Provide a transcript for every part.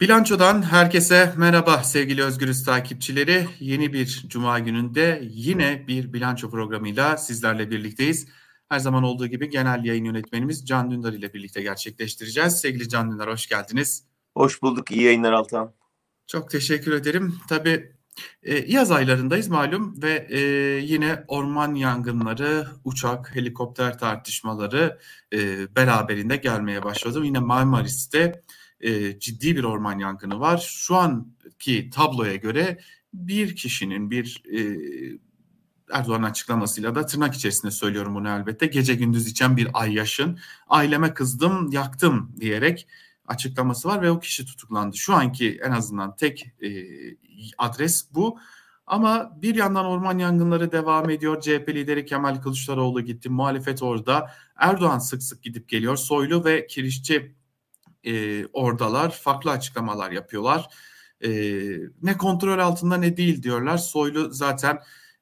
Bilanço'dan herkese merhaba sevgili Özgürüz takipçileri. Yeni bir cuma gününde yine bir bilanço programıyla sizlerle birlikteyiz. Her zaman olduğu gibi genel yayın yönetmenimiz Can Dündar ile birlikte gerçekleştireceğiz. Sevgili Can Dündar, hoş geldiniz. Hoş bulduk. İyi yayınlar Altan. Çok teşekkür ederim. Tabii yaz aylarındayız malum ve yine orman yangınları, uçak, helikopter tartışmaları beraberinde gelmeye başladı. Yine Marmaris'te ciddi bir orman yangını var. Şu anki tabloya göre bir kişinin Erdoğan'ın açıklamasıyla da tırnak içerisinde söylüyorum bunu elbette. Gece gündüz içen bir ayyaşın aileme kızdım, yaktım diyerek açıklaması var ve o kişi tutuklandı. Şu anki en azından tek adres bu. Ama bir yandan orman yangınları devam ediyor. CHP lideri Kemal Kılıçdaroğlu gitti. Muhalefet orada. Erdoğan sık sık gidip geliyor. Soylu ve Kirişçi oradalar. Farklı açıklamalar yapıyorlar. Ne kontrol altında ne değil diyorlar. Soylu zaten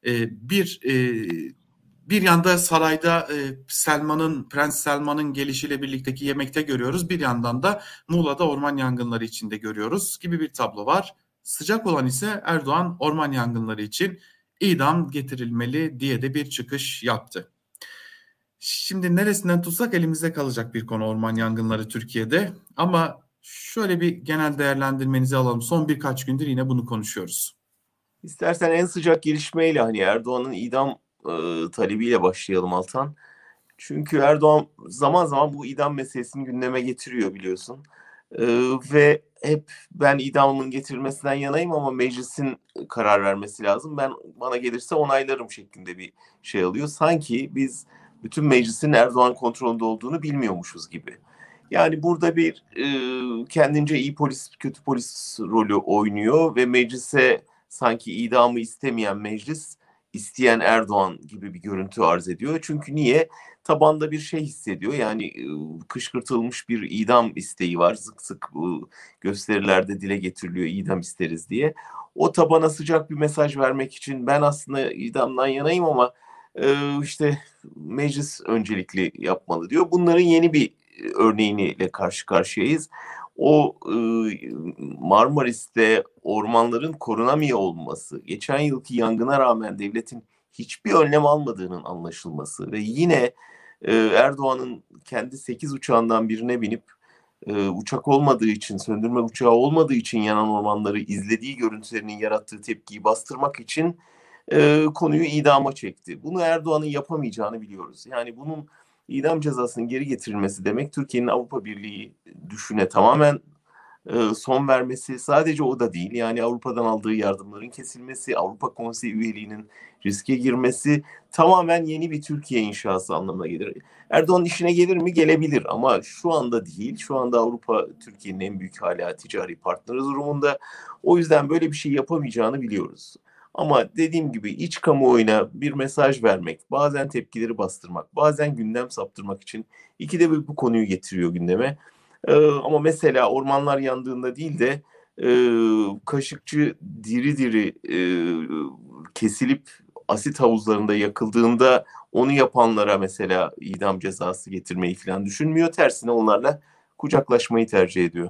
bir yanda sarayda Prens Selman'ın gelişiyle birlikteki yemekte görüyoruz. Bir yandan da Muğla'da orman yangınları içinde görüyoruz gibi bir tablo var. Sıcak olan ise Erdoğan orman yangınları için idam getirilmeli diye de bir çıkış yaptı. Şimdi neresinden tutsak elimizde kalacak bir konu orman yangınları Türkiye'de. Ama şöyle bir genel değerlendirmenizi alalım. Son birkaç gündür yine bunu konuşuyoruz. İstersen en sıcak gelişmeyle Erdoğan'ın idam talebiyle başlayalım Altan. Çünkü Erdoğan zaman zaman bu idam meselesini gündeme getiriyor biliyorsun. Ve hep ben idamın getirilmesinden yanayım ama meclisin karar vermesi lazım. Bana gelirse onaylarım şeklinde bir şey alıyor. Sanki biz bütün meclisin Erdoğan kontrolünde olduğunu bilmiyormuşuz gibi. Yani burada bir kendince iyi polis, kötü polis rolü oynuyor ve meclise sanki idamı istemeyen meclis, isteyen Erdoğan gibi bir görüntü arz ediyor. Çünkü niye? Tabanda bir şey hissediyor. Yani kışkırtılmış bir idam isteği var. Sık sık gösterilerde dile getiriliyor idam isteriz diye. O tabana sıcak bir mesaj vermek için ben aslında idamdan yanayım ama işte meclis öncelikli yapmalı diyor. Bunların yeni bir örneğiyle karşı karşıyayız. O Marmaris'te ormanların korunamıyor olması, geçen yılki yangına rağmen devletin hiçbir önlem almadığının anlaşılması ve yine Erdoğan'ın kendi 8 uçağından birine binip uçak olmadığı için, söndürme uçağı olmadığı için yanan ormanları izlediği görüntülerinin yarattığı tepkiyi bastırmak için konuyu idama çekti. Bunu Erdoğan'ın yapamayacağını biliyoruz. Yani bunun idam cezasının geri getirilmesi demek Türkiye'nin Avrupa Birliği düşüne tamamen son vermesi, sadece o da değil. Yani Avrupa'dan aldığı yardımların kesilmesi, Avrupa Konseyi üyeliğinin riske girmesi tamamen yeni bir Türkiye inşası anlamına gelir. Erdoğan işine gelir mi? Gelebilir ama şu anda değil. Şu anda Avrupa Türkiye'nin en büyük hala ticari partneri durumunda. O yüzden böyle bir şey yapamayacağını biliyoruz. Ama dediğim gibi iç kamuoyuna bir mesaj vermek, bazen tepkileri bastırmak, bazen gündem saptırmak için ikide bir bu konuyu getiriyor gündeme. Ama mesela ormanlar yandığında değil de Kaşıkçı diri diri kesilip asit havuzlarında yakıldığında onu yapanlara mesela idam cezası getirmeyi falan düşünmüyor. Tersine onlarla kucaklaşmayı tercih ediyor.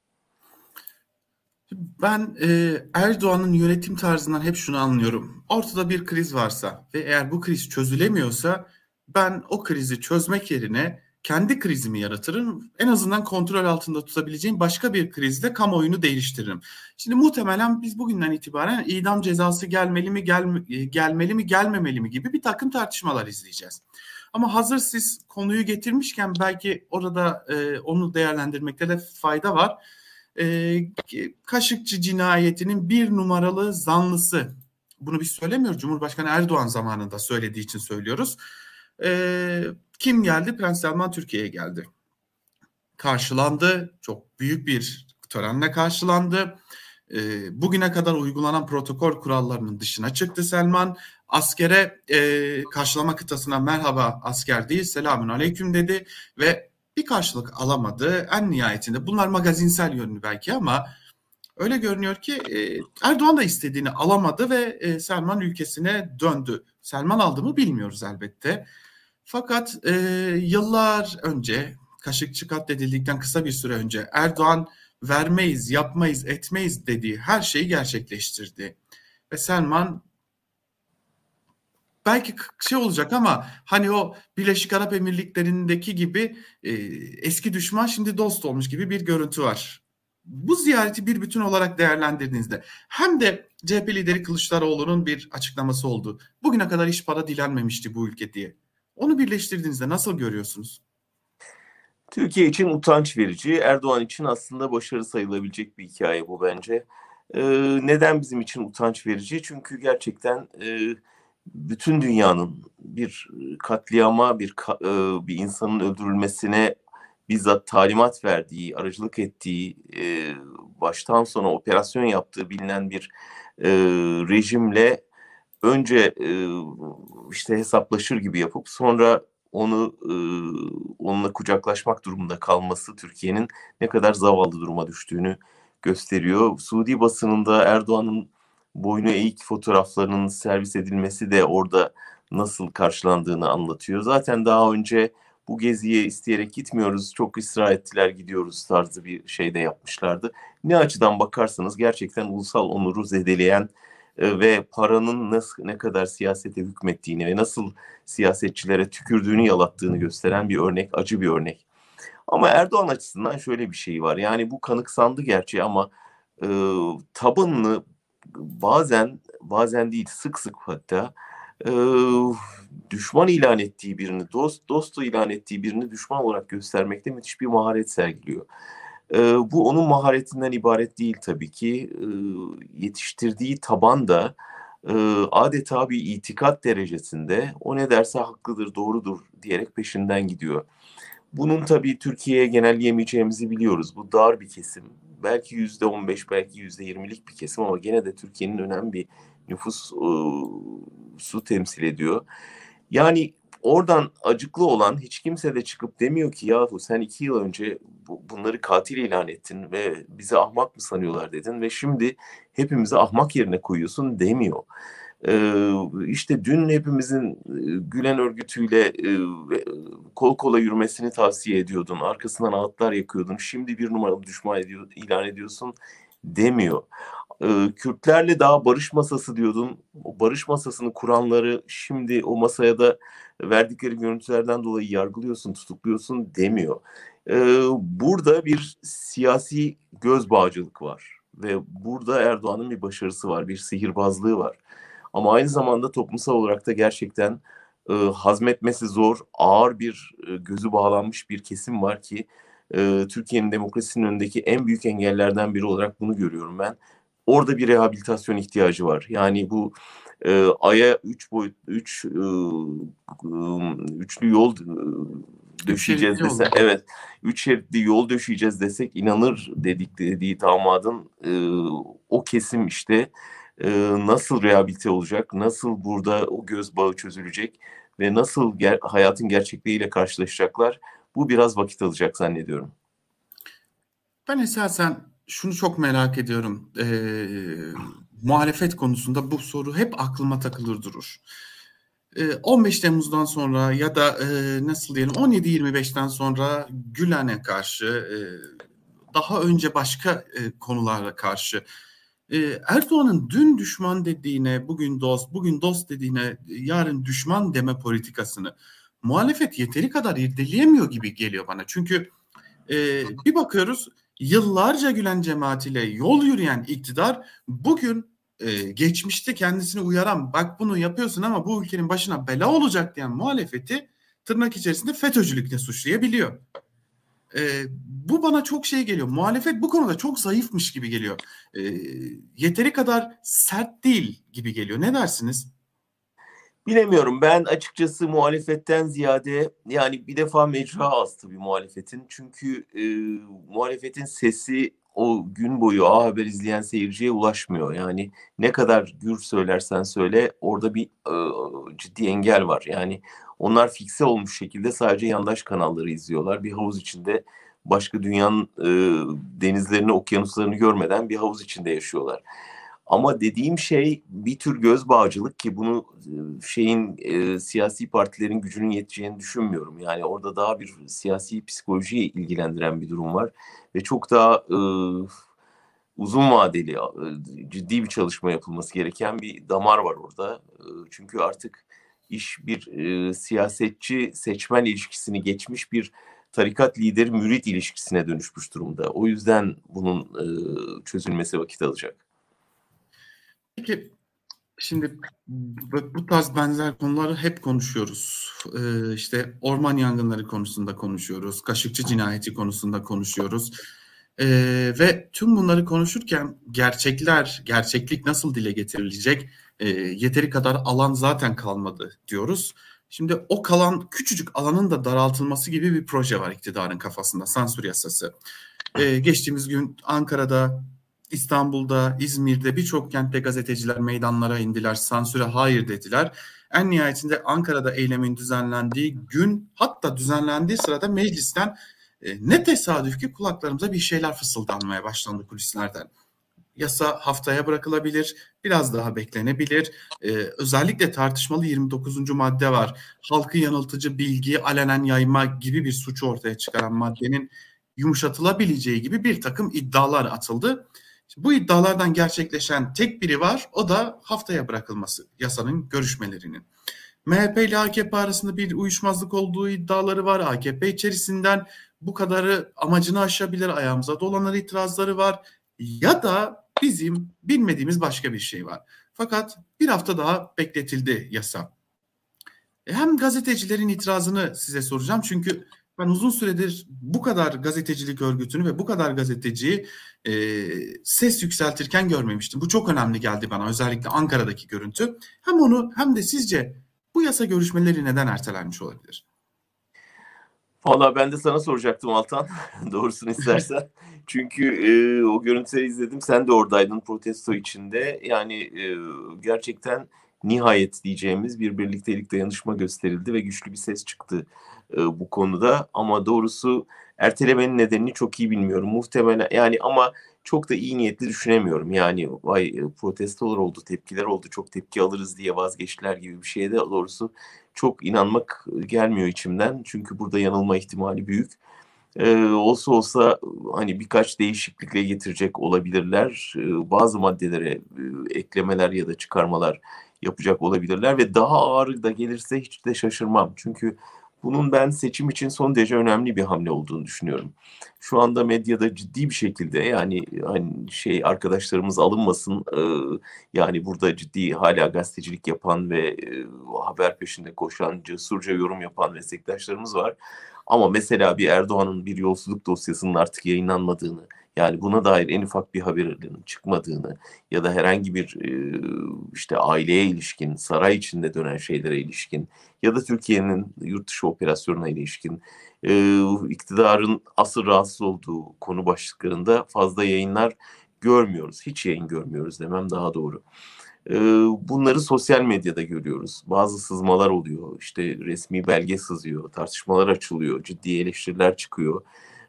Ben Erdoğan'ın yönetim tarzından hep şunu anlıyorum. Ortada bir kriz varsa ve eğer bu kriz çözülemiyorsa ben o krizi çözmek yerine kendi krizimi yaratırım. En azından kontrol altında tutabileceğim başka bir krizle kamuoyunu değiştiririm. Şimdi muhtemelen biz bugünden itibaren idam cezası gelmeli mi gelmemeli mi gibi bir takım tartışmalar izleyeceğiz. Ama hazır siz konuyu getirmişken belki orada onu değerlendirmekte de fayda var. Kaşıkçı cinayetinin bir numaralı zanlısı. Bunu biz söylemiyoruz. Cumhurbaşkanı Erdoğan zamanında söylediği için söylüyoruz. Kim geldi? Prens Selman Türkiye'ye geldi. Karşılandı. Çok büyük bir törenle karşılandı. Bugüne kadar uygulanan protokol kurallarının dışına çıktı Selman. Askere karşılama kıtasına merhaba asker değil selamün aleyküm dedi ve bir karşılık alamadı. En nihayetinde bunlar magazinsel yönlü belki ama öyle görünüyor ki Erdoğan da istediğini alamadı ve Selman ülkesine döndü. Selman aldı mı bilmiyoruz elbette. Fakat yıllar önce Kaşıkçı katledildikten kısa bir süre önce Erdoğan vermeyiz, yapmayız, etmeyiz dediği her şeyi gerçekleştirdi. Ve Selman belki şey olacak ama hani o Birleşik Arap Emirlikleri'ndeki gibi eski düşman şimdi dost olmuş gibi bir görüntü var. Bu ziyareti bir bütün olarak değerlendirdiğinizde hem de CHP lideri Kılıçdaroğlu'nun bir açıklaması oldu. Bugüne kadar hiç para dilenmemişti bu ülke diye. Onu birleştirdiğinizde nasıl görüyorsunuz? Türkiye için utanç verici, Erdoğan için aslında başarı sayılabilecek bir hikaye bu bence. Neden bizim için utanç verici? Çünkü gerçekten bütün dünyanın bir katliama, bir insanın öldürülmesine bizzat talimat verdiği, aracılık ettiği, baştan sona operasyon yaptığı bilinen bir rejimle önce işte hesaplaşır gibi yapıp sonra onunla kucaklaşmak durumunda kalması Türkiye'nin ne kadar zavallı duruma düştüğünü gösteriyor. Suudi basınında Erdoğan'ın boynu eğik fotoğraflarının servis edilmesi de orada nasıl karşılandığını anlatıyor. Zaten daha önce bu geziye isteyerek gitmiyoruz, çok ısrar ettiler gidiyoruz tarzı bir şey de yapmışlardı. Ne açıdan bakarsanız gerçekten ulusal onuru zedeleyen ve paranın ne kadar siyasete hükmettiğini ve nasıl siyasetçilere tükürdüğünü yalattığını gösteren bir örnek, acı bir örnek. Ama Erdoğan açısından şöyle bir şey var. Yani bu kanıksandı gerçi ama e, tabanını bazen değil sık sık hatta e, düşman ilan ettiği birini dostu ilan ettiği birini düşman olarak göstermekte müthiş bir maharet sergiliyor. Bu onun maharetinden ibaret değil tabii ki. Yetiştirdiği taban da adeta bir itikat derecesinde o ne derse haklıdır, doğrudur diyerek peşinden gidiyor. Bunun tabii Türkiye'ye genelleyemeyeceğimizi biliyoruz. Bu dar bir kesim. Belki %15, belki %20'lik bir kesim ama gene de Türkiye'nin önemli bir nüfus su temsil ediyor. Yani oradan acıklı olan hiç kimse de çıkıp demiyor ki yahu sen 2 yıl önce bunları katil ilan ettin ve bizi ahmak mı sanıyorlar dedin ve şimdi hepimizi ahmak yerine koyuyorsun demiyor. İşte dün hepimizin Gülen örgütüyle kol kola yürümesini tavsiye ediyordun. Arkasından ağıtlar yakıyordun. Şimdi bir numaralı düşman ilan ediyorsun demiyor. Kürtlerle daha barış masası diyordun. O barış masasını kuranları şimdi o masaya da verdikleri görüntülerden dolayı yargılıyorsun, tutukluyorsun demiyor. Burada bir siyasi göz bağcılık var. Ve burada Erdoğan'ın bir başarısı var, bir sihirbazlığı var. Ama aynı zamanda toplumsal olarak da gerçekten hazmetmesi zor, ağır bir gözü bağlanmış bir kesim var ki Türkiye'nin demokrasisinin önündeki en büyük engellerden biri olarak bunu görüyorum ben. Orada bir rehabilitasyon ihtiyacı var. Yani bu Ay'a üçlü yol döşeyeceğiz desek, evet, 3 şeritli yol döşeyeceğiz desek inanır dediği damadın o kesim işte nasıl rehabilite olacak, nasıl burada o göz bağı çözülecek ve nasıl hayatın gerçekliğiyle karşılaşacaklar, bu biraz vakit alacak zannediyorum. Ben esasen şunu çok merak ediyorum. Muhalefet konusunda bu soru hep aklıma takılır durur. 15 Temmuz'dan sonra ya da nasıl diyelim 17-25'ten sonra Gülen'e karşı daha önce başka konulara karşı Erdoğan'ın dün düşman dediğine bugün dost dediğine yarın düşman deme politikasını muhalefet yeteri kadar irdeleyemiyor gibi geliyor bana. Çünkü bir bakıyoruz yıllarca Gülen cemaatiyle yol yürüyen iktidar bugün geçmişte kendisini uyaran bak bunu yapıyorsun ama bu ülkenin başına bela olacak diyen muhalefeti tırnak içerisinde FETÖ'cülükle suçlayabiliyor. Bu bana çok şey geliyor. Muhalefet bu konuda çok zayıfmış gibi geliyor. Yeteri kadar sert değil gibi geliyor. Ne dersiniz? Bilemiyorum, ben açıkçası muhalefetten ziyade yani bir defa mecra astı bir muhalefetin. Çünkü muhalefetin sesi o gün boyu A Haber izleyen seyirciye ulaşmıyor. Yani ne kadar gür söylersen söyle orada bir ciddi engel var. Yani onlar fikse olmuş şekilde sadece yandaş kanalları izliyorlar. Bir havuz içinde başka dünyanın denizlerini, okyanuslarını görmeden bir havuz içinde yaşıyorlar. Ama dediğim şey bir tür göz bağcılık ki bunu siyasi partilerin gücünün yeteceğini düşünmüyorum. Yani orada daha bir siyasi psikolojiye ilgilendiren bir durum var ve çok daha uzun vadeli, ciddi bir çalışma yapılması gereken bir damar var orada. Çünkü artık iş bir siyasetçi seçmen ilişkisini geçmiş bir tarikat lideri mürit ilişkisine dönüşmüş durumda. O yüzden bunun çözülmesi vakit alacak. Peki, şimdi bu tarz benzer konuları hep konuşuyoruz. İşte orman yangınları konusunda konuşuyoruz. Kaşıkçı cinayeti konusunda konuşuyoruz. Ve tüm bunları konuşurken gerçeklik nasıl dile getirilecek? Yeteri kadar alan zaten kalmadı diyoruz. Şimdi o kalan küçücük alanın da daraltılması gibi bir proje var iktidarın kafasında, sansür yasası. Geçtiğimiz gün Ankara'da, İstanbul'da, İzmir'de birçok kentte gazeteciler meydanlara indiler, sansüre hayır dediler. En nihayetinde Ankara'da eylemin düzenlendiği gün, hatta düzenlendiği sırada meclisten ne tesadüf ki kulaklarımıza bir şeyler fısıldanmaya başlandı kulislerden. Yasa haftaya bırakılabilir, biraz daha beklenebilir. Özellikle tartışmalı 29. madde var. Halkı yanıltıcı bilgiyi alenen yayma gibi bir suçu ortaya çıkaran maddenin yumuşatılabileceği gibi bir takım iddialar atıldı. Bu iddialardan gerçekleşen tek biri var, o da haftaya bırakılması yasanın görüşmelerinin. MHP ile AKP arasında bir uyuşmazlık olduğu iddiaları var. AKP içerisinden bu kadarı amacını aşabilir, ayağımıza dolanır itirazları var. Ya da bizim bilmediğimiz başka bir şey var. Fakat bir hafta daha bekletildi yasa. Hem gazetecilerin itirazını size soracağım. Çünkü ben uzun süredir bu kadar gazetecilik örgütünü ve bu kadar gazeteciyi ses yükseltirken görmemiştim. Bu çok önemli geldi bana, özellikle Ankara'daki görüntü. Hem onu hem de sizce bu yasa görüşmeleri neden ertelenmiş olabilir? Valla ben de sana soracaktım Altan. Doğrusunu istersen. Çünkü o görüntüleri izledim. Sen de oradaydın protesto içinde. Yani gerçekten nihayet diyeceğimiz bir birliktelik, dayanışma gösterildi ve güçlü bir ses çıktı bu konuda. Ama doğrusu ertelemenin nedenini çok iyi bilmiyorum. Muhtemelen yani ama çok da iyi niyetli düşünemiyorum. Yani vay protestolar oldu, tepkiler oldu, çok tepki alırız diye vazgeçtiler gibi bir şeye de doğrusu çok inanmak gelmiyor içimden. Çünkü burada yanılma ihtimali büyük. Olsa olsa hani birkaç değişiklikle getirecek olabilirler. Bazı maddelere eklemeler ya da çıkarmalar yapacak olabilirler ve daha ağır da gelirse hiç de şaşırmam. Çünkü bunun ben seçim için son derece önemli bir hamle olduğunu düşünüyorum. Şu anda medyada ciddi bir şekilde yani hani arkadaşlarımız alınmasın yani burada ciddi hala gazetecilik yapan ve haber peşinde koşan, cesurca yorum yapan meslektaşlarımız var. Ama mesela bir Erdoğan'ın bir yolsuzluk dosyasının artık yayınlanmadığını, yani buna dair en ufak bir haberinin çıkmadığını ya da herhangi bir işte aileye ilişkin, saray içinde dönen şeylere ilişkin ya da Türkiye'nin yurt dışı operasyonuna ilişkin iktidarın asıl rahatsız olduğu konu başlıklarında fazla yayınlar görmüyoruz. Hiç yayın görmüyoruz demem daha doğru. Bunları sosyal medyada görüyoruz. Bazı sızmalar oluyor. İşte resmi belge sızıyor, tartışmalar açılıyor, ciddi eleştiriler çıkıyor.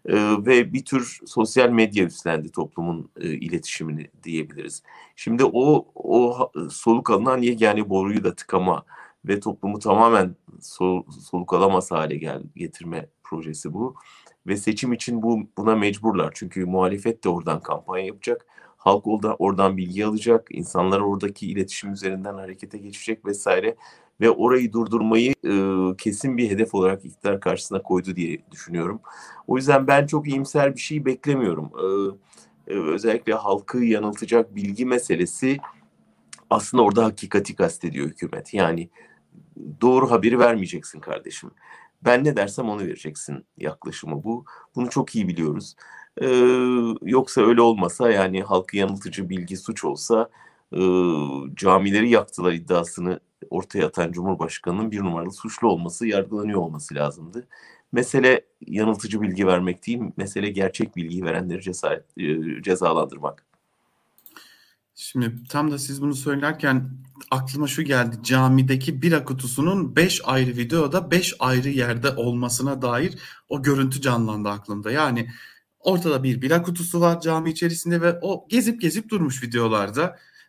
Ve bir tür sosyal medya üstlendi toplumun iletişimini diyebiliriz. Şimdi o soluk alınan yegane boruyu da tıkama ve toplumu tamamen soluk alamaz hale getirme projesi bu. Ve seçim için buna mecburlar. Çünkü muhalefet de oradan kampanya yapacak. Halk oradan bilgi alacak, insanlar oradaki iletişim üzerinden harekete geçecek vesaire ve orayı durdurmayı kesin bir hedef olarak iktidar karşısına koydu diye düşünüyorum. O yüzden ben çok iyimser bir şey beklemiyorum. Özellikle halkı yanıltacak bilgi meselesi aslında orada hakikati kastediyor hükümet. Yani doğru haberi vermeyeceksin kardeşim. Ben ne dersem onu vereceksin yaklaşımı bu. Bunu çok iyi biliyoruz. Yoksa öyle olmasa yani halkı yanıltıcı bilgi suç olsa camileri yaktılar iddiasını ortaya atan Cumhurbaşkanı'nın bir numaralı suçlu olması, yargılanıyor olması lazımdı. Mesele yanıltıcı bilgi vermek değil, mesele gerçek bilgiyi verenleri cezalandırmak. Şimdi tam da siz bunu söylerken aklıma şu geldi. Camideki bira kutusunun 5 ayrı videoda 5 ayrı yerde olmasına dair o görüntü canlandı aklımda. Yani ortada bir bira kutusu var cami içerisinde ve o gezip gezip durmuş videolarda.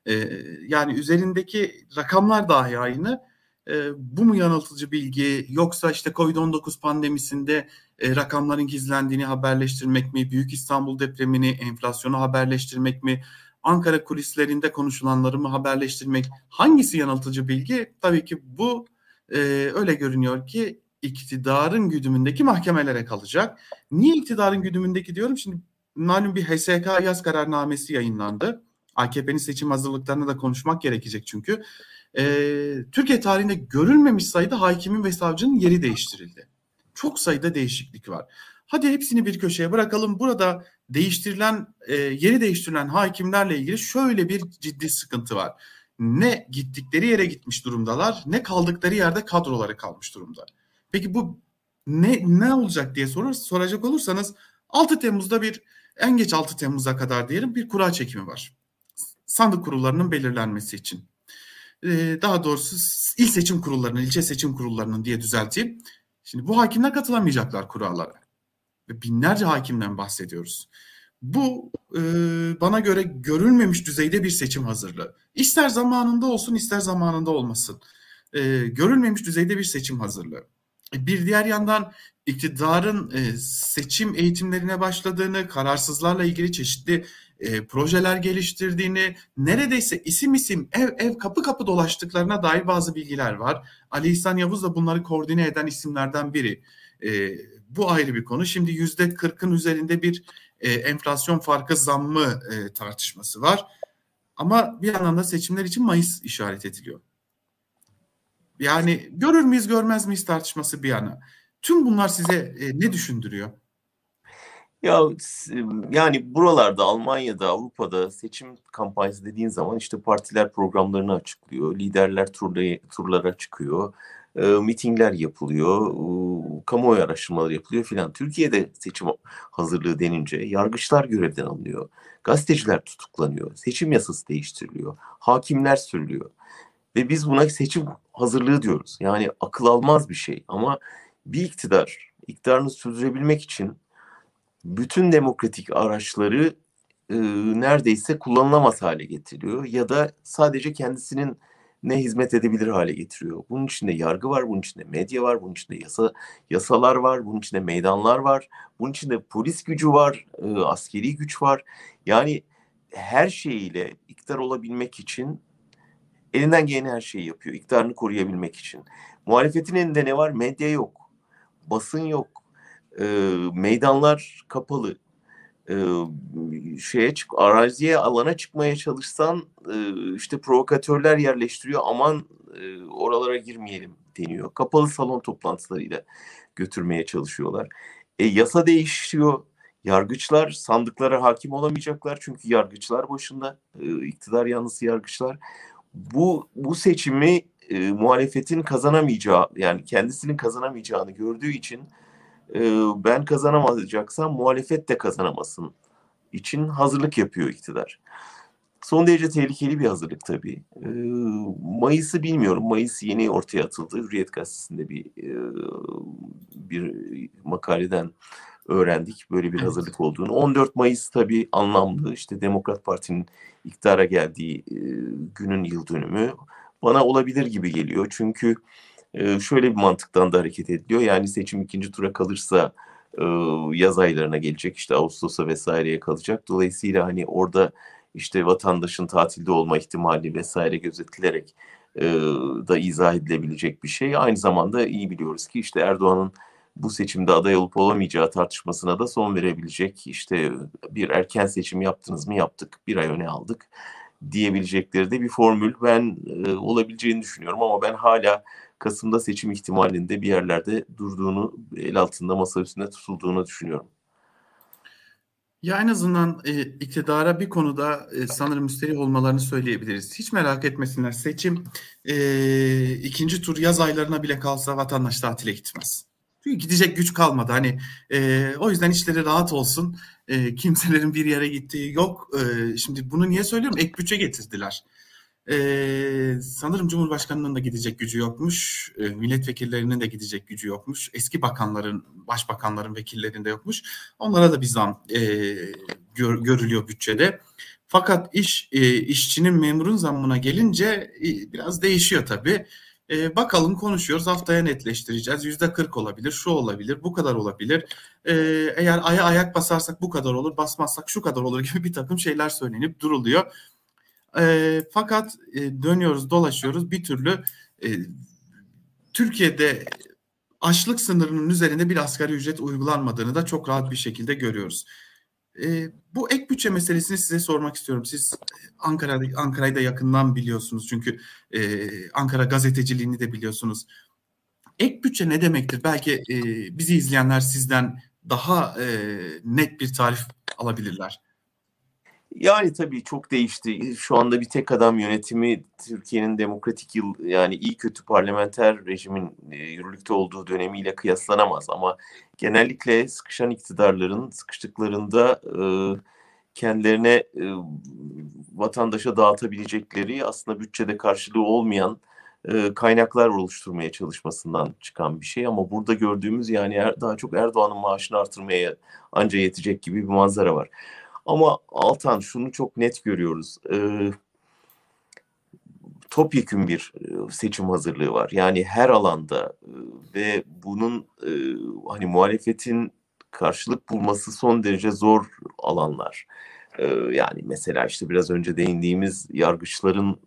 Yani üzerindeki rakamlar dahi aynı. Bu mu yanıltıcı bilgi, yoksa işte Covid-19 pandemisinde rakamların gizlendiğini haberleştirmek mi, Büyük İstanbul depremini, enflasyonu haberleştirmek mi, Ankara kulislerinde konuşulanları mı haberleştirmek? Hangisi yanıltıcı bilgi? Tabii ki bu öyle görünüyor ki iktidarın güdümündeki mahkemelere kalacak. Niye iktidarın güdümündeki diyorum? Şimdi malum bir HSK yaz kararnamesi yayınlandı. AKP'nin seçim hazırlıklarını da konuşmak gerekecek çünkü. Türkiye tarihinde görülmemiş sayıda hakimin ve savcının yeri değiştirildi. Çok sayıda değişiklik var. Hadi hepsini bir köşeye bırakalım. Burada yeri değiştirilen hakimlerle ilgili şöyle bir ciddi sıkıntı var. Ne gittikleri yere gitmiş durumdalar, ne kaldıkları yerde kadroları kalmış durumda. Peki bu ne olacak diye soracak olursanız 6 Temmuz'da en geç 6 Temmuz'a kadar diyelim bir kura çekimi var. Sandık kurullarının belirlenmesi için. Daha doğrusu il seçim kurullarının, ilçe seçim kurullarının diye düzelteyim. Şimdi bu hakimler katılamayacaklar kurallara. Ve binlerce hakimden bahsediyoruz. Bu bana göre görülmemiş düzeyde bir seçim hazırlığı. İster zamanında olsun, ister zamanında olmasın. Görülmemiş düzeyde bir seçim hazırlığı. Bir diğer yandan iktidarın seçim eğitimlerine başladığını, kararsızlarla ilgili çeşitli projeler geliştirdiğini, neredeyse isim isim, ev kapı kapı dolaştıklarına dair bazı bilgiler var. Ali İhsan Yavuz da bunları koordine eden isimlerden biri. Bu ayrı bir konu. Şimdi %40'ın üzerinde bir enflasyon farkı zammı tartışması var. Ama bir yandan da seçimler için Mayıs işaret ediliyor. Yani görür müyüz görmez miyiz tartışması bir yana. Tüm bunlar size ne düşündürüyor? Ya yani buralarda, Almanya'da, Avrupa'da seçim kampanyası dediğin zaman işte partiler programlarını açıklıyor, liderler turlara çıkıyor, mitingler yapılıyor, kamuoyu araştırmaları yapılıyor filan. Türkiye'de seçim hazırlığı denince yargıçlar görevden alınıyor, gazeteciler tutuklanıyor, seçim yasası değiştiriliyor, hakimler sürülüyor. Ve biz buna seçim hazırlığı diyoruz. Yani akıl almaz bir şey, ama bir iktidarını sürdürebilmek için bütün demokratik araçları neredeyse kullanılamaz hale getiriyor ya da sadece kendisinin ne hizmet edebilir hale getiriyor. Bunun içinde yargı var, bunun içinde medya var, bunun içinde yasalar var, bunun içinde meydanlar var, bunun içinde polis gücü var, askeri güç var. Yani her şeyiyle iktidar olabilmek için elinden gelen her şeyi yapıyor, iktidarını koruyabilmek için. Muhalefetin elinde ne var? Medya yok, basın yok, meydanlar kapalı. Araziye, alana çıkmaya çalışsan işte provokatörler yerleştiriyor, aman oralara girmeyelim deniyor. Kapalı salon toplantılarıyla götürmeye çalışıyorlar. Yasa değişiyor. Yargıçlar sandıklara hakim olamayacaklar çünkü yargıçlar başında, iktidar yanlısı yargıçlar. Bu seçimi muhalefetin kazanamayacağı, yani kendisinin kazanamayacağını gördüğü için ben kazanamayacaksam muhalefet de kazanamasın için hazırlık yapıyor iktidar. Son derece tehlikeli bir hazırlık tabii. Mayıs'ı bilmiyorum. Mayıs yeni ortaya atıldı. Hürriyet Gazetesi'nde bir makaleden öğrendik böyle bir hazırlık olduğunu. 14 Mayıs tabii anlamlı. İşte Demokrat Parti'nin iktidara geldiği günün yıl dönümü. Bana olabilir gibi geliyor. Çünkü şöyle bir mantıktan da hareket ediliyor. Yani seçim ikinci tura kalırsa yaz aylarına gelecek, işte Ağustos'a vesaireye kalacak. Dolayısıyla hani orada işte vatandaşın tatilde olma ihtimali vesaire gözetilerek da izah edilebilecek bir şey. Aynı zamanda iyi biliyoruz ki işte Erdoğan'ın bu seçimde aday olup olamayacağı tartışmasına da son verebilecek, işte bir erken seçim yaptınız mı, yaptık, bir ay öne aldık diyebilecekleri de bir formül ben olabileceğini düşünüyorum, ama ben hala Kasım'da seçim ihtimalinde bir yerlerde durduğunu, el altında masa üstünde tutulduğunu düşünüyorum. Ya en azından iktidara bir konuda sanırım müsterih olmalarını söyleyebiliriz. Hiç merak etmesinler. Seçim ikinci tur yaz aylarına bile kalsa vatandaş tatile gitmez. Çünkü gidecek güç kalmadı. Hani o yüzden işleri rahat olsun. Kimselerin bir yere gittiği yok. Şimdi bunu niye söylüyorum? Ek bütçe getirdiler. Sanırım Cumhurbaşkanı'nın da gidecek gücü yokmuş. Milletvekillerinin de gidecek gücü yokmuş. Eski bakanların, başbakanların, vekillerinde yokmuş. Onlara da bir zam görülüyor bütçede. Fakat işçinin memurun zammına gelince biraz değişiyor tabii. Bakalım konuşuyoruz, haftaya netleştireceğiz. %40 olabilir, şu olabilir, bu kadar olabilir. Eğer aya ayak basarsak bu kadar olur, basmazsak şu kadar olur gibi bir takım şeyler söylenip duruluyor. Fakat dönüyoruz dolaşıyoruz bir türlü Türkiye'de açlık sınırının üzerinde bir asgari ücret uygulanmadığını da çok rahat bir şekilde görüyoruz. Bu ek bütçe meselesini size sormak istiyorum. Siz Ankara'yı da yakından biliyorsunuz çünkü Ankara gazeteciliğini de biliyorsunuz. Ek bütçe ne demektir? Belki bizi izleyenler sizden daha net bir tarif alabilirler. Yani tabii çok değişti. Şu anda bir tek adam yönetimi Türkiye'nin demokratik yani iyi kötü parlamenter rejimin yürürlükte olduğu dönemiyle kıyaslanamaz. Ama genellikle sıkışan iktidarların sıkıştıklarında kendilerine vatandaşa dağıtabilecekleri aslında bütçede karşılığı olmayan kaynaklar oluşturmaya çalışmasından çıkan bir şey. Ama burada gördüğümüz yani daha çok Erdoğan'ın maaşını artırmaya anca yetecek gibi bir manzara var. Ama Altan şunu çok net görüyoruz. Topyekün bir seçim hazırlığı var. Yani her alanda ve bunun hani muhalefetin karşılık bulması son derece zor alanlar. Yani mesela işte biraz önce değindiğimiz yargıçların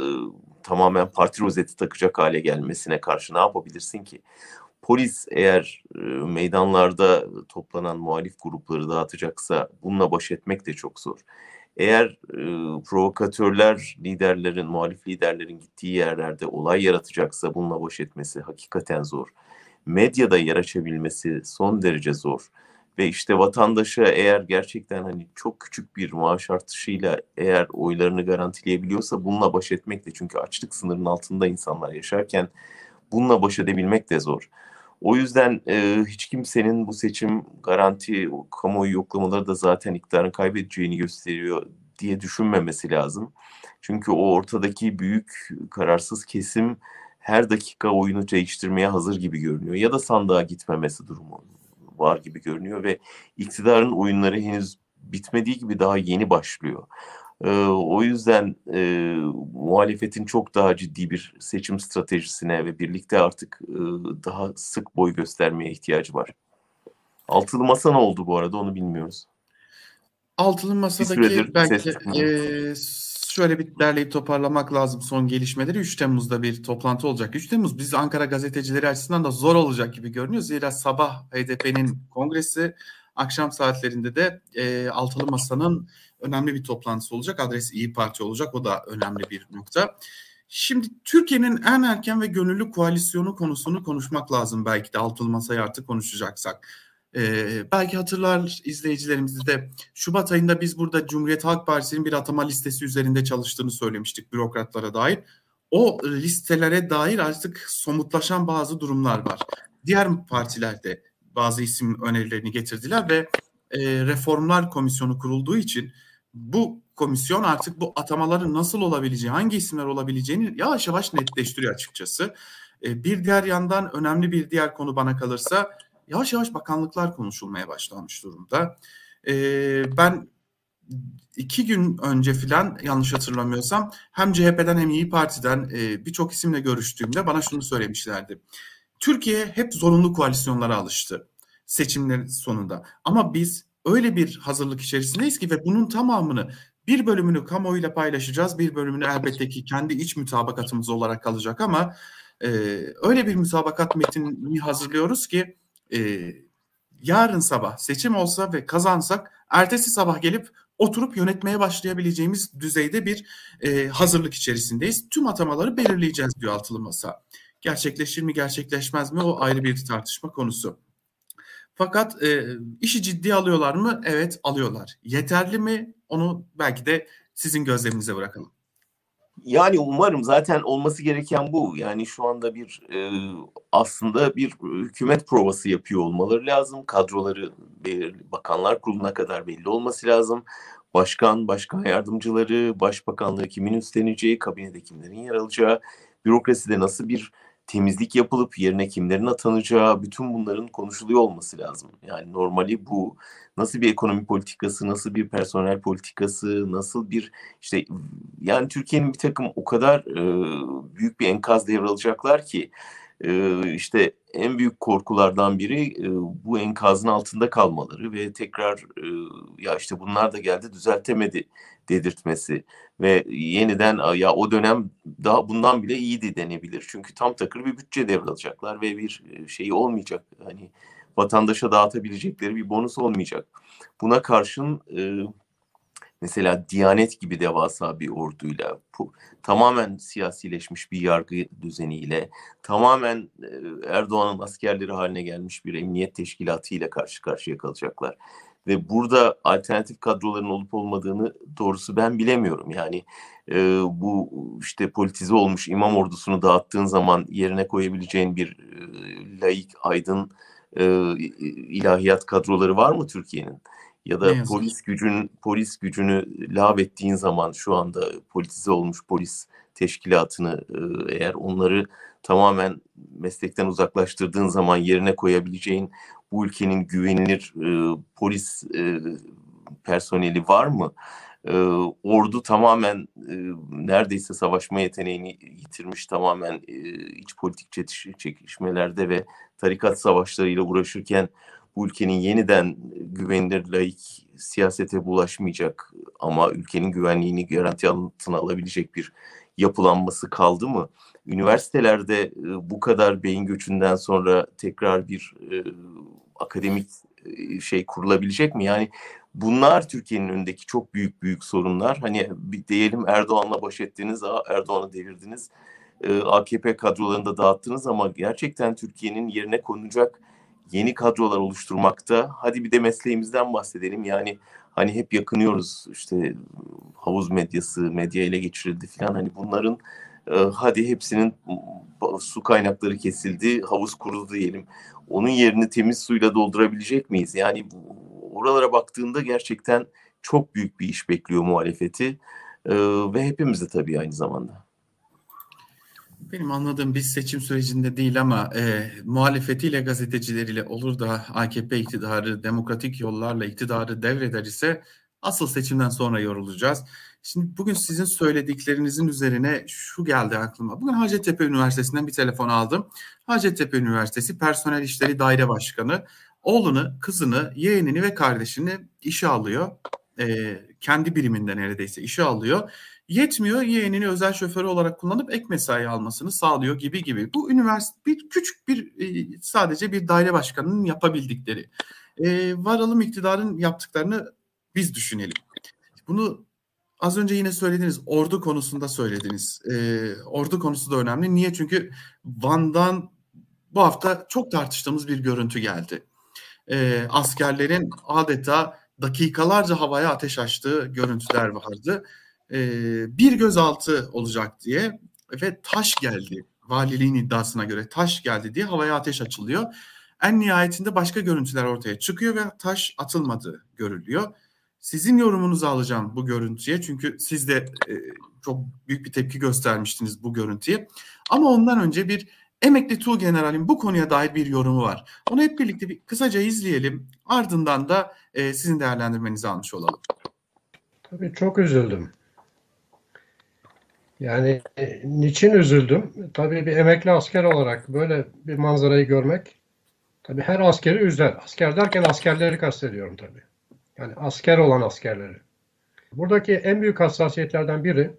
tamamen parti rozeti takacak hale gelmesine karşı ne yapabilirsin ki? Polis eğer meydanlarda toplanan muhalif grupları dağıtacaksa bununla baş etmek de çok zor. Eğer provokatörler liderlerin, muhalif liderlerin gittiği yerlerde olay yaratacaksa bununla baş etmesi hakikaten zor. Medyada yer açabilmesi son derece zor. Ve işte vatandaşa eğer gerçekten hani çok küçük bir maaş artışıyla eğer oylarını garantileyebiliyorsa bununla baş etmek de, çünkü açlık sınırının altında insanlar yaşarken bununla baş edebilmek de zor. O yüzden hiç kimsenin bu seçim garanti, kamuoyu yoklamaları da zaten iktidarın kaybedeceğini gösteriyor diye düşünmemesi lazım. Çünkü o ortadaki büyük kararsız kesim her dakika oyunu değiştirmeye hazır gibi görünüyor. Ya da sandığa gitmemesi durumu var gibi görünüyor ve iktidarın oyunları henüz bitmediği gibi daha yeni başlıyor. O yüzden muhalefetin çok daha ciddi bir seçim stratejisine ve birlikte artık daha sık boy göstermeye ihtiyacı var. Altılı Masa ne oldu bu arada, onu bilmiyoruz. Altılı Bir Masa'daki süredir ses belki çıkmıyor. şöyle bir derleyip toparlamak lazım son gelişmeleri. 3 Temmuz'da bir toplantı olacak. 3 Temmuz biz Ankara gazetecileri açısından da zor olacak gibi görünüyor. Zira sabah HDP'nin kongresi, akşam saatlerinde de Altılı Masa'nın önemli bir toplantısı olacak. Adresi İyi Parti olacak. O da önemli bir nokta. Şimdi Türkiye'nin en erken ve gönüllü koalisyonu konusunu konuşmak lazım belki de Altılı Masa'yı artık konuşacaksak. Belki hatırlar izleyicilerimiz de Şubat ayında biz burada Cumhuriyet Halk Partisi'nin bir atama listesi üzerinde çalıştığını söylemiştik bürokratlara dair. O listelere dair artık somutlaşan bazı durumlar var. Diğer partiler de bazı isim önerilerini getirdiler ve reformlar komisyonu kurulduğu için bu komisyon artık bu atamaların nasıl olabileceği, hangi isimler olabileceğini yavaş yavaş netleştiriyor açıkçası. Bir diğer yandan önemli bir diğer konu bana kalırsa yavaş yavaş bakanlıklar konuşulmaya başlanmış durumda. Ben 2 gün önce filan yanlış hatırlamıyorsam hem CHP'den hem İyi Parti'den birçok isimle görüştüğümde bana şunu söylemişlerdi. Türkiye hep zorunlu koalisyonlara alıştı seçimlerin sonunda. Ama biz öyle bir hazırlık içerisindeyiz ki ve bunun tamamını bir bölümünü kamuoyuyla paylaşacağız. Bir bölümünü elbette ki kendi iç mütabakatımız olarak kalacak ama e, öyle bir mütabakat metnini hazırlıyoruz ki e, yarın sabah seçim olsa ve kazansak ertesi sabah gelip oturup yönetmeye başlayabileceğimiz düzeyde bir hazırlık içerisindeyiz. Tüm atamaları belirleyeceğiz diyor Altılı Masa. Gerçekleşir mi gerçekleşmez mi o ayrı bir tartışma konusu. Fakat işi ciddiye alıyorlar mı? Evet alıyorlar. Yeterli mi? Onu belki de sizin gözleminize bırakalım. Yani umarım, zaten olması gereken bu. Yani şu anda bir aslında bir hükümet provası yapıyor olmaları lazım. Kadroları bakanlar kuruluna kadar belli olması lazım. Başkan, başkan yardımcıları, başbakanlığı kimin üstleneceği, kabinede kimlerin yer alacağı, bürokraside nasıl bir temizlik yapılıp yerine kimlerin atanacağı, bütün bunların konuşuluyor olması lazım. Yani normali bu. Nasıl bir ekonomi politikası, nasıl bir personel politikası, nasıl bir işte yani Türkiye'nin bir takım o kadar büyük bir enkaz devralacaklar ki işte en büyük korkulardan biri bu enkazın altında kalmaları ve tekrar ya işte bunlar da geldi düzeltemedi dedirtmesi ve yeniden ya o dönem daha bundan bile iyiydi denebilir. Çünkü tam takır bir bütçe devralacaklar ve bir şey olmayacak. Hani vatandaşa dağıtabilecekleri bir bonus olmayacak. Buna karşın mesela Diyanet gibi devasa bir orduyla, tamamen siyasileşmiş bir yargı düzeniyle, tamamen Erdoğan'ın askerleri haline gelmiş bir emniyet teşkilatı ile karşı karşıya kalacaklar. Ve burada alternatif kadroların olup olmadığını doğrusu ben bilemiyorum. Yani bu işte politize olmuş imam ordusunu dağıttığın zaman yerine koyabileceğin bir laik, aydın ilahiyat kadroları var mı Türkiye'nin? Ya Ne da yazık ki. polis gücünü lağvettiğin zaman şu anda politize olmuş polis teşkilatını eğer onları tamamen meslekten uzaklaştırdığın zaman yerine koyabileceğin bu ülkenin güvenilir polis personeli var mı? Ordu tamamen neredeyse savaşma yeteneğini yitirmiş, tamamen iç politik çekişmelerde ve tarikat savaşlarıyla uğraşırken bu ülkenin yeniden güvenilir laik siyasete bulaşmayacak ama ülkenin güvenliğini garanti altına alabilecek bir yapılanması kaldı mı? Üniversitelerde bu kadar beyin göçünden sonra tekrar bir akademik şey kurulabilecek mi? Yani bunlar Türkiye'nin önündeki çok büyük büyük sorunlar. Hani diyelim Erdoğan'la baş ettiniz, Erdoğan'ı devirdiniz, AKP kadrolarını da dağıttınız ama gerçekten Türkiye'nin yerine konulacak yeni kadrolar oluşturmakta. Hadi bir de mesleğimizden bahsedelim. Yani hani hep yakınıyoruz işte havuz medyası, medya ele geçirildi falan. Hani bunların hadi hepsinin su kaynakları kesildi, havuz kurudu diyelim. Onun yerini temiz suyla doldurabilecek miyiz? Yani oralara baktığında gerçekten çok büyük bir iş bekliyor muhalefeti ve hepimiz de tabii aynı zamanda. Benim anladığım biz seçim sürecinde değil ama muhalefetiyle gazetecileriyle olur da AKP iktidarı demokratik yollarla iktidarı devreder ise asıl seçimden sonra yorulacağız. Şimdi bugün sizin söylediklerinizin üzerine şu geldi aklıma. Bugün Hacettepe Üniversitesi'nden bir telefon aldım. Hacettepe Üniversitesi Personel İşleri Daire Başkanı oğlunu, kızını, yeğenini ve kardeşini işe alıyor. Kendi biriminden neredeyse işe alıyor. Yetmiyor, yeğenini özel şoförü olarak kullanıp ek mesai almasını sağlıyor gibi gibi. Bu üniversite bir küçük bir sadece bir daire başkanının yapabildikleri. Varalım iktidarın yaptıklarını biz düşünelim. Bunu az önce yine söylediniz, ordu konusunda söylediniz. Ordu konusu da önemli. Niye? Çünkü Van'dan bu hafta çok tartıştığımız bir görüntü geldi. Askerlerin adeta dakikalarca havaya ateş açtığı görüntüler vardı. Bir gözaltı olacak diye ve taş geldi. Valiliğin iddiasına göre taş geldi diye havaya ateş açılıyor. En nihayetinde başka görüntüler ortaya çıkıyor ve taş atılmadığı görülüyor. Sizin yorumunuzu alacağım bu görüntüye. Çünkü siz de çok büyük bir tepki göstermiştiniz bu görüntüye. Ama ondan önce bir emekli Tuğgeneral'in bu konuya dair bir yorumu var. Onu hep birlikte bir kısaca izleyelim. Ardından da sizin değerlendirmenizi almış olalım. Tabii çok üzüldüm. Yani niçin üzüldüm? Tabii bir emekli asker olarak böyle bir manzarayı görmek tabii her askeri üzer. Asker derken askerleri kastediyorum tabii. Yani asker olan askerleri. Buradaki en büyük hassasiyetlerden biri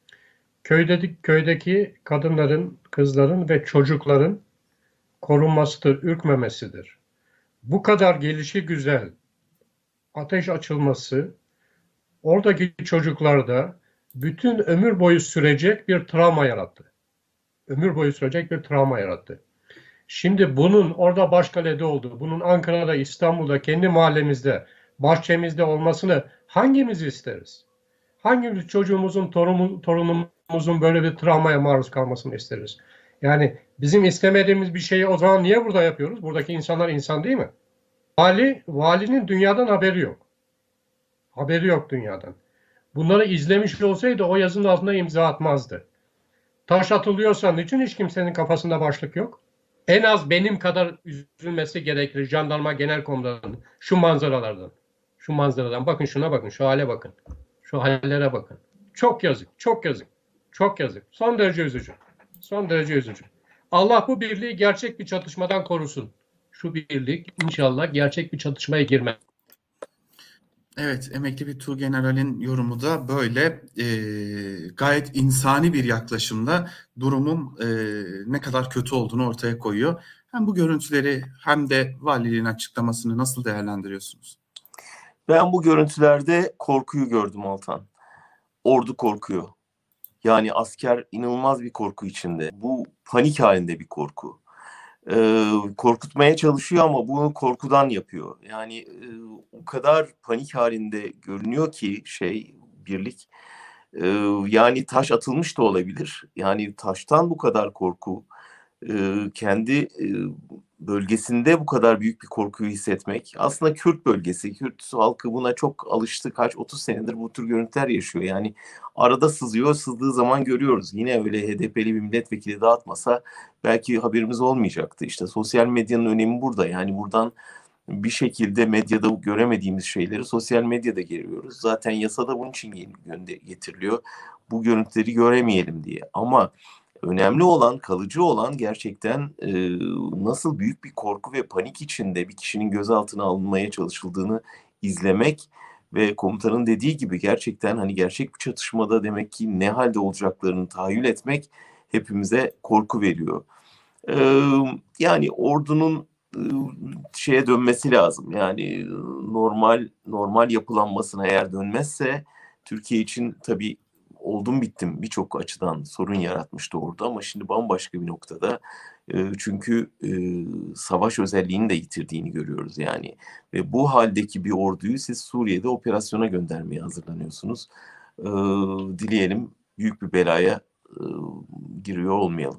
köydeki kadınların, kızların ve çocukların korunmasıdır, ürkmemesidir. Bu kadar gelişigüzel ateş açılması oradaki çocuklarda bütün ömür boyu sürecek bir travma yarattı. Ömür boyu sürecek bir travma yarattı. Şimdi bunun orada Başkale'de olduğu, bunun Ankara'da, İstanbul'da, kendi mahallemizde, bahçemizde olmasını hangimiz isteriz? Hangimiz çocuğumuzun, torunumuzun böyle bir travmaya maruz kalmasını isteriz? Yani bizim istemediğimiz bir şeyi o zaman niye burada yapıyoruz? Buradaki insanlar insan değil mi? Valinin dünyadan haberi yok. Haberi yok dünyadan. Bunları izlemiş olsaydı o yazının altına imza atmazdı. Taş atılıyorsa niçin hiç kimsenin kafasında başlık yok? En az benim kadar üzülmesi gerekir jandarma genel komutanının şu manzaralardan. Şu manzaradan bakın, şuna bakın, şu hale bakın. Şu hallere bakın. Çok yazık, çok yazık. Çok yazık. Son derece üzücü. Son derece üzücü. Allah bu birliği gerçek bir çatışmadan korusun. Şu birlik inşallah gerçek bir çatışmaya girmez. Evet, emekli bir Tuğgeneral'in yorumu da böyle gayet insani bir yaklaşımla durumun ne kadar kötü olduğunu ortaya koyuyor. Hem bu görüntüleri hem de valiliğin açıklamasını nasıl değerlendiriyorsunuz? Ben bu görüntülerde korkuyu gördüm Altan. Ordu korkuyor. Yani asker inanılmaz bir korku içinde. Bu panik halinde bir korku. Korkutmaya çalışıyor ama bunu korkudan yapıyor. Yani o kadar panik halinde görünüyor ki birlik. Yani taş atılmış da olabilir. Yani taştan bu kadar korku, kendi bölgesinde bu kadar büyük bir korkuyu hissetmek. Aslında Kürt bölgesi, Kürt halkı buna çok alıştı. 30 senedir bu tür görüntüler yaşıyor. Yani arada sızıyor, sızdığı zaman görüyoruz. Yine öyle HDP'li bir milletvekili dağıtmasa belki haberimiz olmayacaktı. İşte sosyal medyanın önemi burada. Yani buradan bir şekilde medyada göremediğimiz şeyleri sosyal medyada görüyoruz. Zaten yasada bunun için getiriliyor. Bu görüntüleri göremeyelim diye. Ama önemli olan, kalıcı olan gerçekten nasıl büyük bir korku ve panik içinde bir kişinin gözaltına alınmaya çalışıldığını izlemek ve komutanın dediği gibi gerçekten hani gerçek bir çatışmada demek ki ne halde olacaklarını tahayyül etmek hepimize korku veriyor. Yani ordunun şeye dönmesi lazım. Yani normal yapılanmasına eğer dönmezse Türkiye için tabii oldum bittim birçok açıdan sorun yaratmıştı orada ama şimdi bambaşka bir noktada. Çünkü savaş özelliğini de yitirdiğini görüyoruz yani. Ve bu haldeki bir orduyu siz Suriye'de operasyona göndermeye hazırlanıyorsunuz. Dileyelim büyük bir belaya giriyor olmayalım.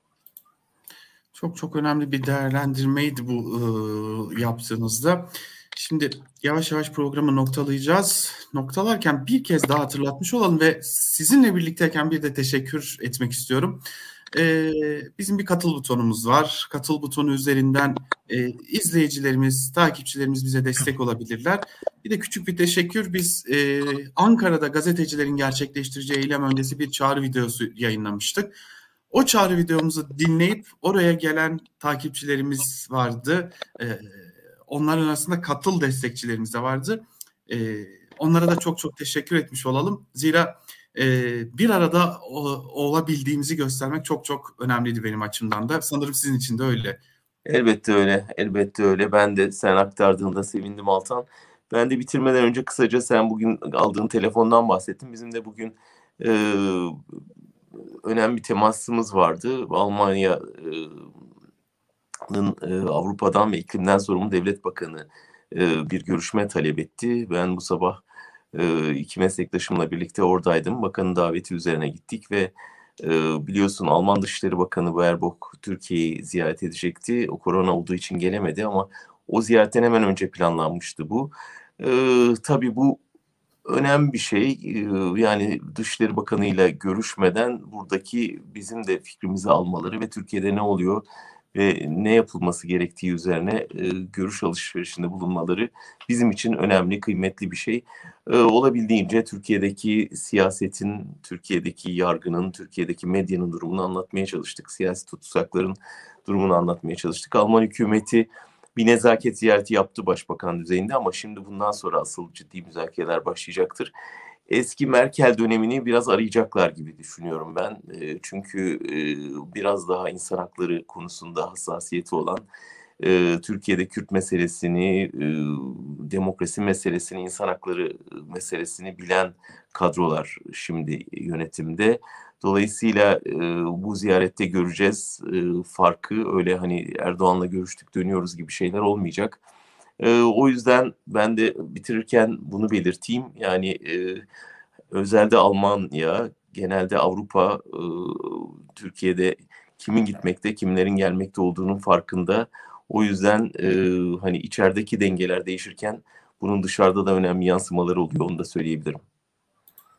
Çok çok önemli bir değerlendirmeydi bu yaptığınızda. Şimdi yavaş yavaş programı noktalayacağız. Noktalarken bir kez daha hatırlatmış olalım ve sizinle birlikteyken bir de teşekkür etmek istiyorum. Bizim bir katıl butonumuz var. Katıl butonu üzerinden izleyicilerimiz, takipçilerimiz bize destek olabilirler. Bir de küçük bir teşekkür. Biz Ankara'da gazetecilerin gerçekleştireceği eylem öncesi bir çağrı videosu yayınlamıştık. O çağrı videomuzu dinleyip oraya gelen takipçilerimiz vardı. Onların arasında katıl destekçilerimiz de vardı. Onlara da çok çok teşekkür etmiş olalım. Zira bir arada olabildiğimizi göstermek çok çok önemliydi benim açımdan da. Sanırım sizin için de öyle. Elbette öyle, elbette öyle. Ben de sen aktardığında sevindim Altan. Ben de bitirmeden önce kısaca sen bugün aldığın telefondan bahsettin. Bizim de bugün e, önemli bir temasımız vardı. Almanya'nın Avrupa'dan ve iklimden sorumlu devlet bakanı bir görüşme talep etti. Ben bu sabah iki meslektaşımla birlikte oradaydım. Bakanın daveti üzerine gittik ve biliyorsun Alman Dışişleri Bakanı Baerbock Türkiye'yi ziyaret edecekti. O korona olduğu için gelemedi ama o ziyaretten hemen önce planlanmıştı bu. Tabii bu önemli bir şey. Yani Dışişleri Bakanı ile görüşmeden buradaki bizim de fikrimizi almaları ve Türkiye'de ne oluyor ve ne yapılması gerektiği üzerine görüş alışverişinde bulunmaları bizim için önemli, kıymetli bir şey. Olabildiğince Türkiye'deki siyasetin, Türkiye'deki yargının, Türkiye'deki medyanın durumunu anlatmaya çalıştık. Siyasi tutsakların durumunu anlatmaya çalıştık. Alman hükümeti bir nezaket ziyareti yaptı başbakan düzeyinde ama şimdi bundan sonra asıl ciddi müzakereler başlayacaktır. Eski Merkel dönemini biraz arayacaklar gibi düşünüyorum ben. Çünkü biraz daha insan hakları konusunda hassasiyeti olan, Türkiye'de Kürt meselesini, demokrasi meselesini, insan hakları meselesini bilen kadrolar şimdi yönetimde. Dolayısıyla bu ziyarette göreceğiz farkı. Öyle hani Erdoğan'la görüştük dönüyoruz gibi şeyler olmayacak. O yüzden ben de bitirirken bunu belirteyim. Yani özelde Almanya, genelde Avrupa, Türkiye'de kimin gitmekte, kimlerin gelmekte olduğunun farkında. O yüzden hani içerideki dengeler değişirken bunun dışarıda da önemli yansımaları oluyor. Onu da söyleyebilirim.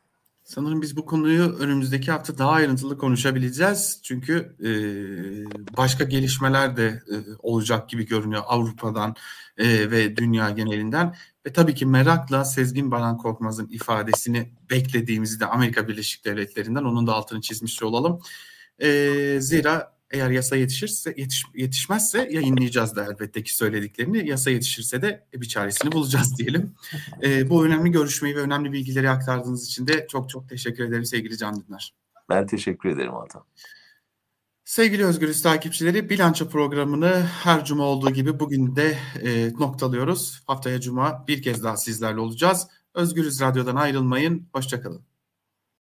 Sanırım biz bu konuyu önümüzdeki hafta daha ayrıntılı konuşabileceğiz. Çünkü başka gelişmeler de olacak gibi görünüyor Avrupa'dan ve dünya genelinden. Ve tabii ki merakla Sezgin Baran Korkmaz'ın ifadesini beklediğimizi de Amerika Birleşik Devletleri'nden, onun da altını çizmiş olalım. Zira eğer yasa yetişmezse yayınlayacağız da elbette ki söylediklerini. Yasa yetişirse de bir çaresini bulacağız diyelim. Bu önemli görüşmeyi ve önemli bilgileri aktardığınız için de çok çok teşekkür ederim sevgili Can Dündar. Ben teşekkür ederim Atan. Sevgili Özgürüz takipçileri, bilanço programını her cuma olduğu gibi bugün de noktalıyoruz. Haftaya cuma bir kez daha sizlerle olacağız. Özgürüz Radyo'dan ayrılmayın. Hoşça kalın.